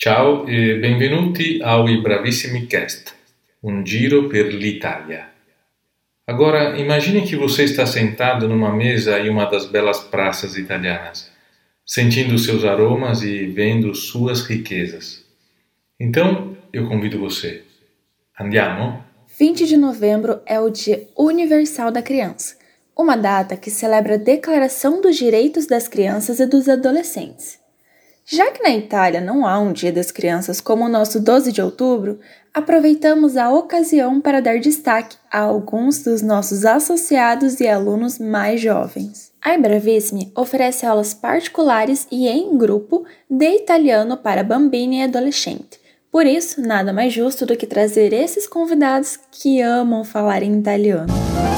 Ciao e benvenuti ao Bravissimi Cast, um giro per l'Italia. Agora, imagine que você está sentado numa mesa em uma das belas praças italianas, sentindo seus aromas e vendo suas riquezas. Então, eu convido você. Andiamo? 20 de novembro é o Dia Universal da Criança, uma data que celebra a Declaração dos Direitos das Crianças e dos Adolescentes. Já que na Itália não há um Dia das Crianças como o nosso 12 de outubro, aproveitamos a ocasião para dar destaque a alguns dos nossos associados e alunos mais jovens. A Bravissimi oferece aulas particulares e em grupo de italiano para bambini e adolescente. Por isso, nada mais justo do que trazer esses convidados que amam falar em italiano.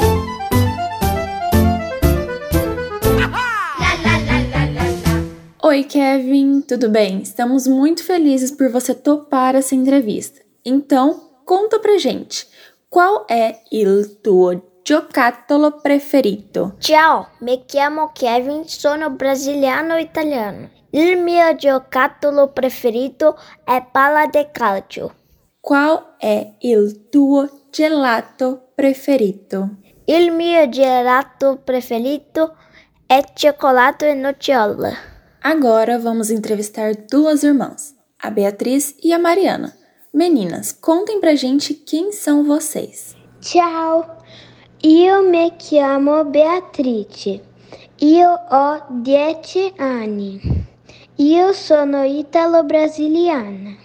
Oi, Kevin, tudo bem? Estamos muito felizes por você topar essa entrevista. Então, conta pra gente, qual é il tuo giocattolo preferito? Ciao, mi chiamo Kevin, sono brasiliano italiano. Il mio giocattolo preferito è palla de calcio. Qual é il tuo gelato preferito? Il mio gelato preferito è cioccolato e nocciola. Agora vamos entrevistar duas irmãs, a Beatriz e a Mariana. Meninas, contem pra gente quem são vocês. Ciao, io mi chiamo Beatrice, io ho 10 anni, io sono italo-brasiliana,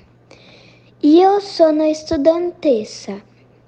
io sono studentessa,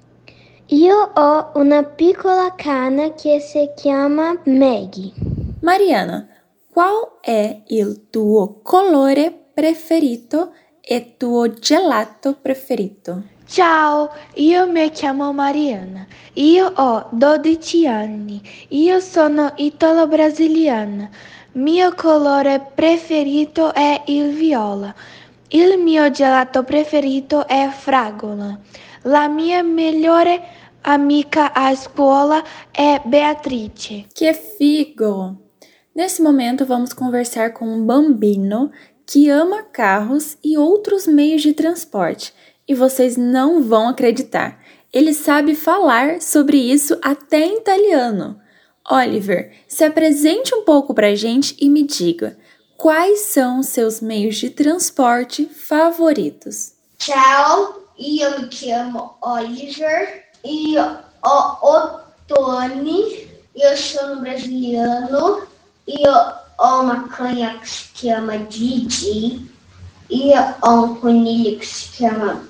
io ho una piccola cane che si chiama Maggie. Mariana, qual è il tuo colore preferito e tuo gelato preferito? Ciao, io mi chiamo Mariana, io ho 12 anni, io sono italo-brasiliana, mio colore preferito è il viola, il mio gelato preferito è fragola, la mia migliore amica a scuola è Beatrice. Que figo! Nesse momento vamos conversar com um bambino que ama carros e outros meios de transporte. E vocês não vão acreditar, ele sabe falar sobre isso até em italiano. Oliver, se apresente um pouco pra gente e me diga, quais são os seus meios de transporte favoritos? Ciao, io mi chiamo Oliver, io ho 8 anni, io sono brasiliano, io ho uma canha que se chama Gigi, io ho un coniglio che si chiama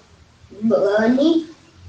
Bunny,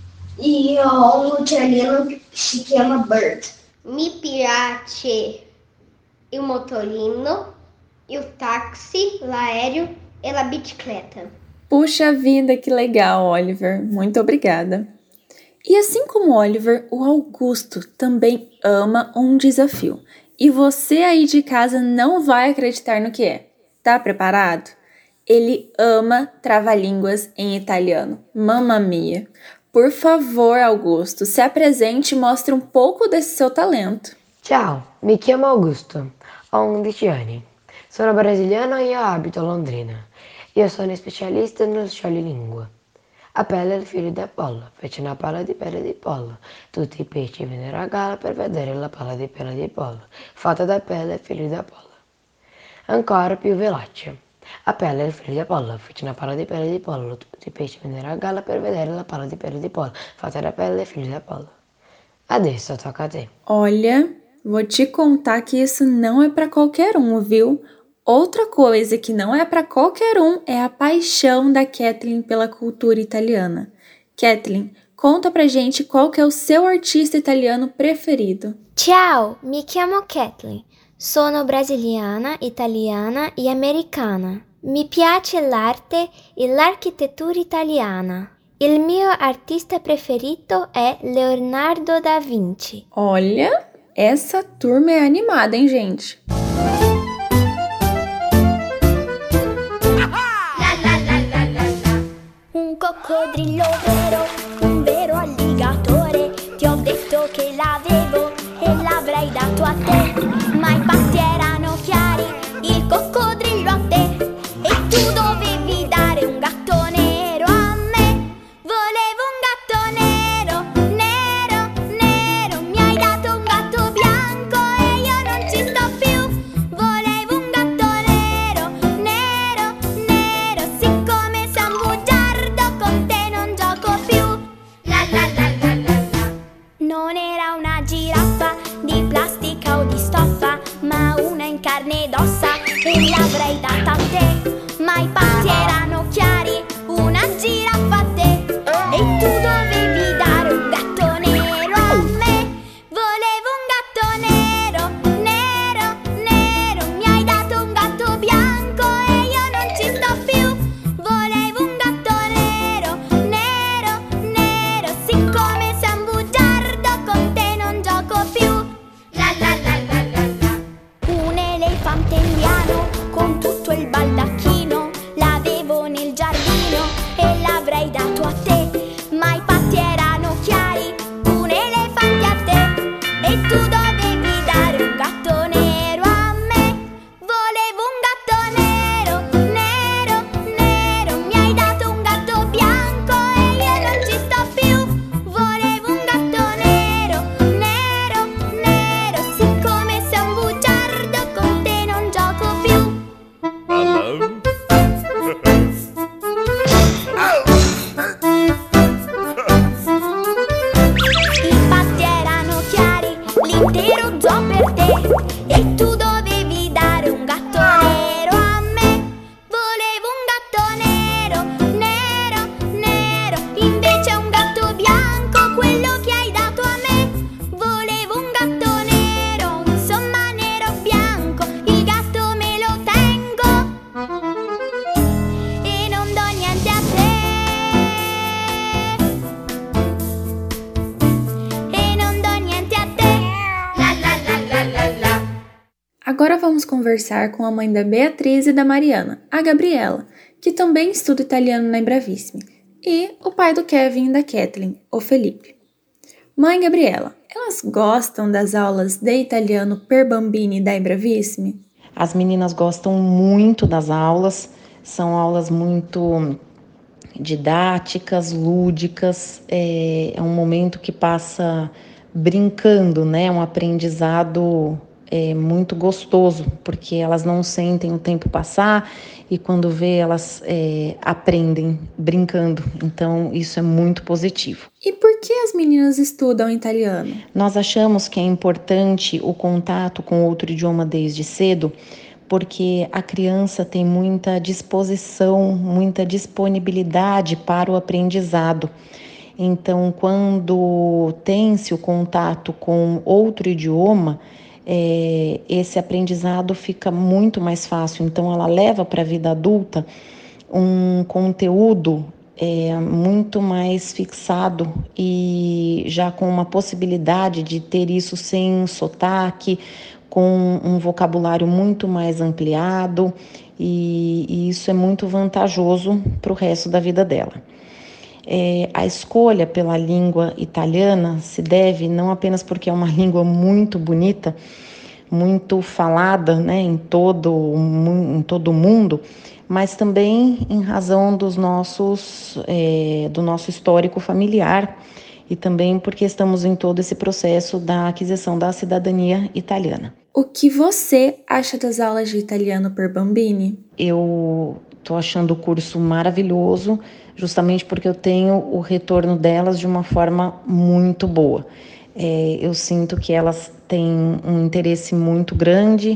e io ho un uccellino che si chiama Bird. Mi piace il motorino, il táxi, l'aereo e la bicicleta. Puxa vida, que legal, Oliver. Muito obrigada. E assim como Oliver, o Augusto também ama um desafio. E você aí de casa não vai acreditar no que é. Tá preparado? Ele ama trava-línguas em italiano. Mamma mia! Por favor, Augusto, se apresente e mostre um pouco desse seu talento. Ciao, mi chiamo Augusto, ho 11 anni, sono brasiliano e abito a Londrina. Io sono specialista nel scioglilingua. A pelle è il figlio di Apollo, fece una palla di pelle di pollo. Tutti i pesci vennero a galla per vedere la palla di pelle di pollo, fatta da pelle figlio di Apollo. Ancora più veloce. A pelle è il figlio di Apollo, fece una palla di pelle di pollo. Tutti i pesci vennero a galla per vedere la palla di pelle di pollo, fatta da pelle figlio di Apollo. Adesso tocca a te. Olha, vou te contar que isso não é para qualquer um, viu? Outra coisa que não é para qualquer um é a paixão da Kathleen pela cultura italiana. Kathleen, conta pra gente qual que é o seu artista italiano preferido. Ciao, mi chiamo Kathleen, sono brasiliana, italiana e americana. Mi piace l'arte e l'architettura italiana. Il mio artista preferito è Leonardo da Vinci. Olha, essa turma é animada, hein, gente? Un coccodrillo vero, un vero alligatore. Ti ho detto che l'avevo e l'avrei dato a te, ma i patti erano chiari, il coccodrillo a te, e tu dovevi dare un gatto. Agora vamos conversar com a mãe da Beatriz e da Mariana, a Gabriela, que também estuda italiano na Bravissimi, e o pai do Kevin e da Kathleen, o Felipe. Mãe Gabriela, elas gostam das aulas de italiano per bambini da Bravissimi? As meninas gostam muito das aulas, são aulas muito didáticas, lúdicas, é um momento que passa brincando, né? Um aprendizado muito gostoso, porque elas não sentem o tempo passar e quando vê elas aprendem brincando, então isso é muito positivo. E por que as meninas estudam italiano? Nós achamos que é importante o contato com outro idioma desde cedo, porque a criança tem muita disposição, muita disponibilidade para o aprendizado. Então, quando tem-se o contato com outro idioma, esse aprendizado fica muito mais fácil. Então, ela leva para a vida adulta um conteúdo muito mais fixado e já com uma possibilidade de ter isso sem sotaque, com um vocabulário muito mais ampliado, e isso é muito vantajoso para o resto da vida dela. A escolha pela língua italiana se deve não apenas porque é uma língua muito bonita, muito falada, né, em todo o mundo, mas também em razão do nosso histórico familiar, e também porque estamos em todo esse processo da aquisição da cidadania italiana. O que você acha das aulas de italiano per bambini? Eu estou achando o curso maravilhoso, justamente porque eu tenho o retorno delas de uma forma muito boa. Eu sinto que elas têm um interesse muito grande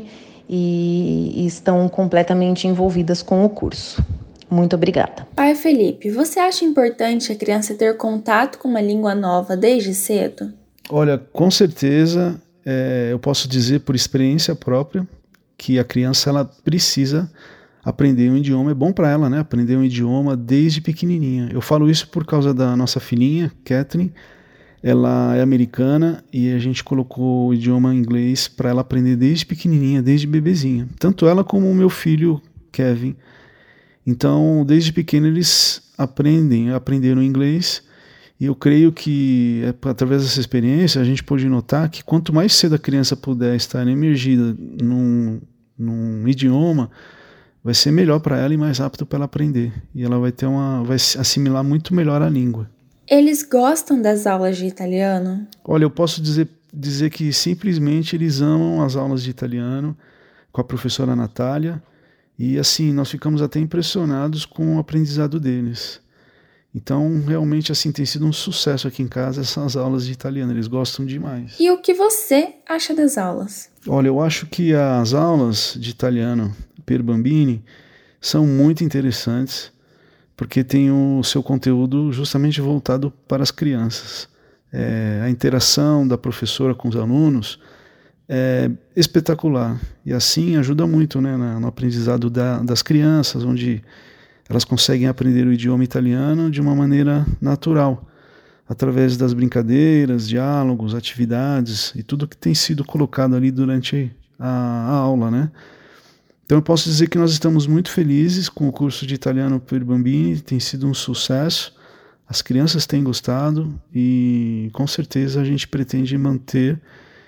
e estão completamente envolvidas com o curso. Muito obrigada. Pai Felipe, você acha importante a criança ter contato com uma língua nova desde cedo? Olha, com certeza, eu posso dizer por experiência própria que a criança ela precisa aprender um idioma. É bom para ela, né? Aprender um idioma desde pequenininha. Eu falo isso por causa da nossa filhinha, Kathleen. Ela é americana e a gente colocou o idioma inglês para ela aprender desde pequenininha, desde bebezinha. Tanto ela como o meu filho, Kevin. Então, desde pequeno eles aprenderam inglês, e eu creio que através dessa experiência a gente pode notar que quanto mais cedo a criança puder estar emergida num idioma, vai ser melhor para ela e mais rápido para ela aprender, e ela vai assimilar muito melhor a língua. Eles gostam das aulas de italiano? Olha, eu posso dizer que simplesmente eles amam as aulas de italiano com a professora Natália. E assim, nós ficamos até impressionados com o aprendizado deles. Então, realmente, assim, tem sido um sucesso aqui em casa essas aulas de italiano. Eles gostam demais. E o que você acha das aulas? Olha, eu acho que as aulas de italiano per bambini são muito interessantes, porque tem o seu conteúdo justamente voltado para as crianças. A interação da professora com os alunos é espetacular, e assim ajuda muito, né, no aprendizado das crianças, onde elas conseguem aprender o idioma italiano de uma maneira natural, através das brincadeiras, diálogos, atividades e tudo que tem sido colocado ali durante a aula, né? Então eu posso dizer que nós estamos muito felizes com o curso de italiano per bambini, tem sido um sucesso, as crianças têm gostado e com certeza a gente pretende manter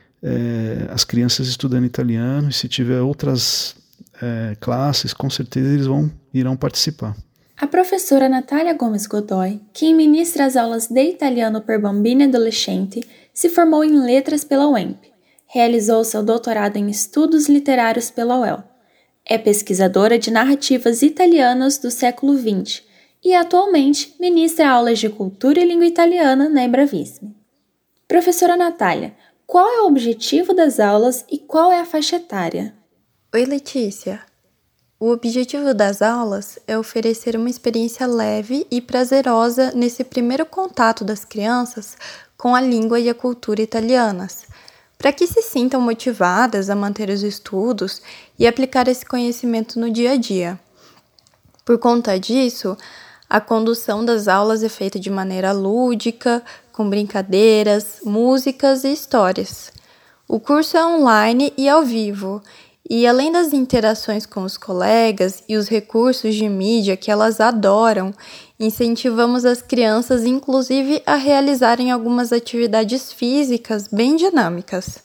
as crianças estudando italiano, e se tiver outras classes, com certeza eles irão participar. A professora Natália Gomes Godoy, quem ministra as aulas de italiano per bambini e adolescente, se formou em letras pela UEMP, realizou seu doutorado em estudos literários pela UEL, é pesquisadora de narrativas italianas do século XX e atualmente ministra aulas de cultura e língua italiana na Bravissimi. Professora Natália, qual é o objetivo das aulas e qual é a faixa etária? Oi, Letícia. O objetivo das aulas é oferecer uma experiência leve e prazerosa nesse primeiro contato das crianças com a língua e a cultura italianas, para que se sintam motivadas a manter os estudos e aplicar esse conhecimento no dia a dia. Por conta disso, a condução das aulas é feita de maneira lúdica, com brincadeiras, músicas e histórias. O curso é online e ao vivo, E além das interações com os colegas e os recursos de mídia que elas adoram, incentivamos as crianças, inclusive, a realizarem algumas atividades físicas bem dinâmicas.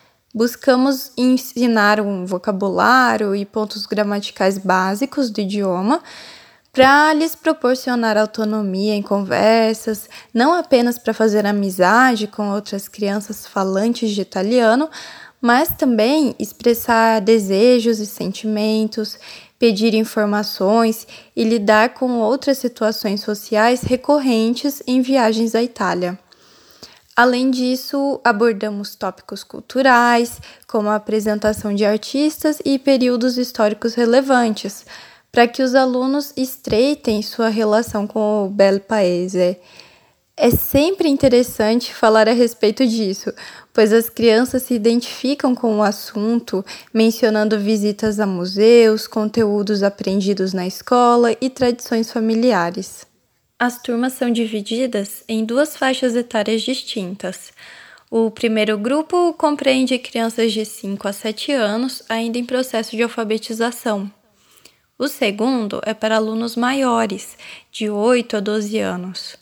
Buscamos ensinar um vocabulário e pontos gramaticais básicos do idioma para lhes proporcionar autonomia em conversas, não apenas para fazer amizade com outras crianças falantes de italiano, mas também expressar desejos e sentimentos, pedir informações e lidar com outras situações sociais recorrentes em viagens à Itália. Além disso, abordamos tópicos culturais, como a apresentação de artistas e períodos históricos relevantes, para que os alunos estreitem sua relação com o bel paese. É sempre interessante falar a respeito disso, pois as crianças se identificam com o assunto, mencionando visitas a museus, conteúdos aprendidos na escola e tradições familiares. As turmas são divididas em 2 faixas etárias distintas. O primeiro grupo compreende crianças de 5 a 7 anos, ainda em processo de alfabetização. O segundo é para alunos maiores, de 8 a 12 anos.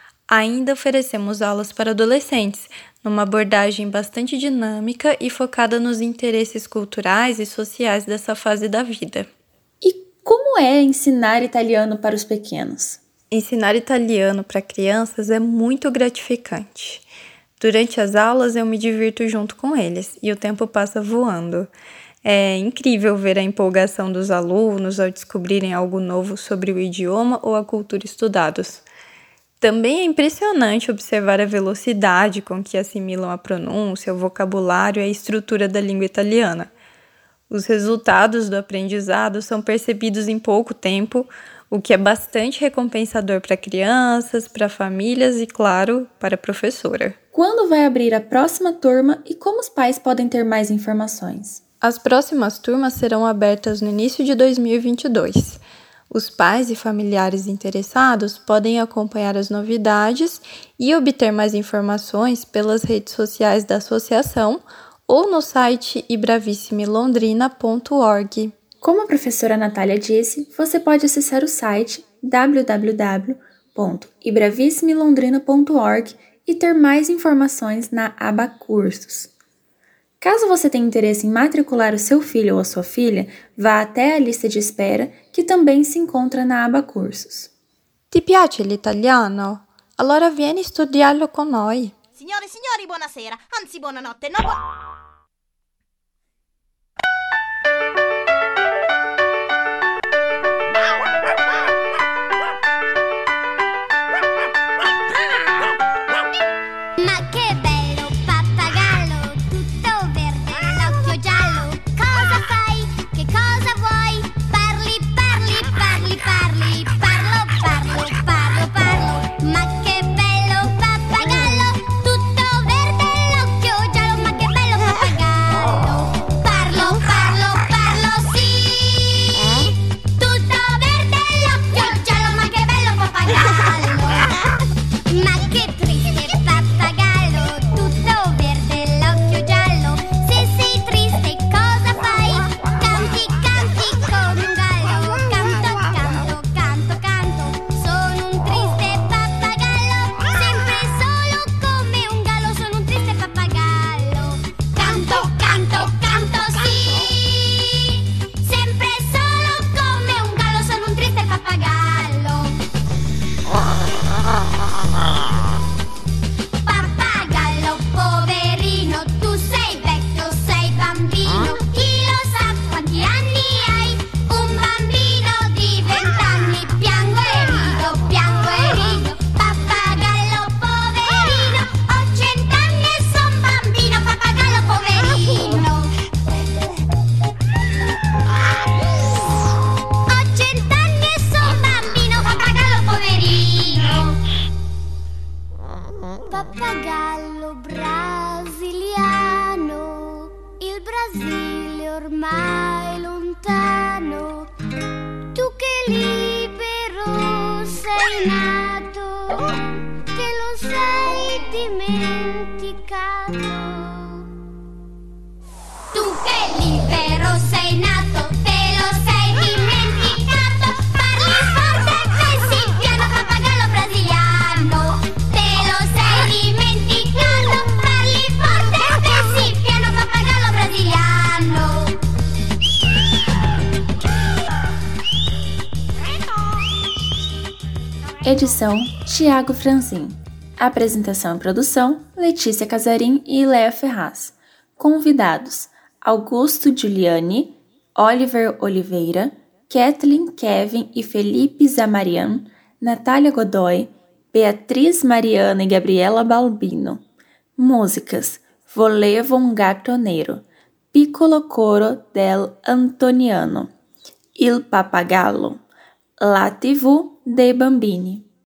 Ainda oferecemos aulas para adolescentes, numa abordagem bastante dinâmica e focada nos interesses culturais e sociais dessa fase da vida. E como é ensinar italiano para os pequenos? Ensinar italiano para crianças é muito gratificante. Durante as aulas eu me divirto junto com eles e o tempo passa voando. É incrível ver a empolgação dos alunos ao descobrirem algo novo sobre o idioma ou a cultura estudados. Também é impressionante observar a velocidade com que assimilam a pronúncia, o vocabulário e a estrutura da língua italiana. Os resultados do aprendizado são percebidos em pouco tempo, o que é bastante recompensador para crianças, para famílias e, claro, para a professora. Quando vai abrir a próxima turma e como os pais podem ter mais informações? As próximas turmas serão abertas no início de 2022. Os pais e familiares interessados podem acompanhar as novidades e obter mais informações pelas redes sociais da associação ou no site ibravissimilondrina.org. Como a professora Natália disse, você pode acessar o site www.ibravissimilondrina.org e ter mais informações na aba Cursos. Caso você tenha interesse em matricular o seu filho ou a sua filha, vá até a lista de espera, que também se encontra na aba Cursos. Ti piace l'italiano? Allora vieni a studiarlo con noi. Signore e signori, buonasera, anzi buonanotte, no Ma che bello pappagallo, tutto verde, l'occhio giallo. Cosa fai? Che cosa vuoi? Parli, parli, parli, parli. Parlo, parlo, parlo, parlo. Ma che bello pappagallo, tutto verde, l'occhio giallo. Ma che bello pappagallo. Parlo, parlo, parlo, sì. Tutto verde, l'occhio giallo. Ma che bello pappagallo. Ma che triste pappagallo, tutto verde, l'occhio giallo. Se sei triste cosa fai? Canti, canti come un gallo. Canto, canto, canto, canto. Sono un triste pappagallo, sempre solo come un gallo. Sono un triste pappagallo. Canto, canto, canto, sì. Sempre solo come un gallo. Sono un triste pappagallo. Pappagallo poverino, tu sei vecchio, sei bambino. Chi lo sa quanti anni hai? Un bambino di 20 anni. Piango e rido, piango e rido. Pappagallo poverino, ho 100 anni e son bambino. Pappagallo poverino. Ho 100 anni e son bambino. Pappagallo poverino. Pappagallo brasiliano, il Brasile ormai lontano. Tu che libero sei nato, che lo sei dimenticato. Tu che libero sei Edição Tiago Franzin. Apresentação e produção Letícia Casarim e Léa Ferraz. Convidados Augusto Giuliani, Oliver Oliveira, Kathleen, Kevin e Felipe Zamarian, Natália Godoy, Beatriz Mariana e Gabriela Balbino. Músicas Volevo un gatto nero, Piccolo coro del Antoniano, Il Pappagallo, La TV dei Bambini.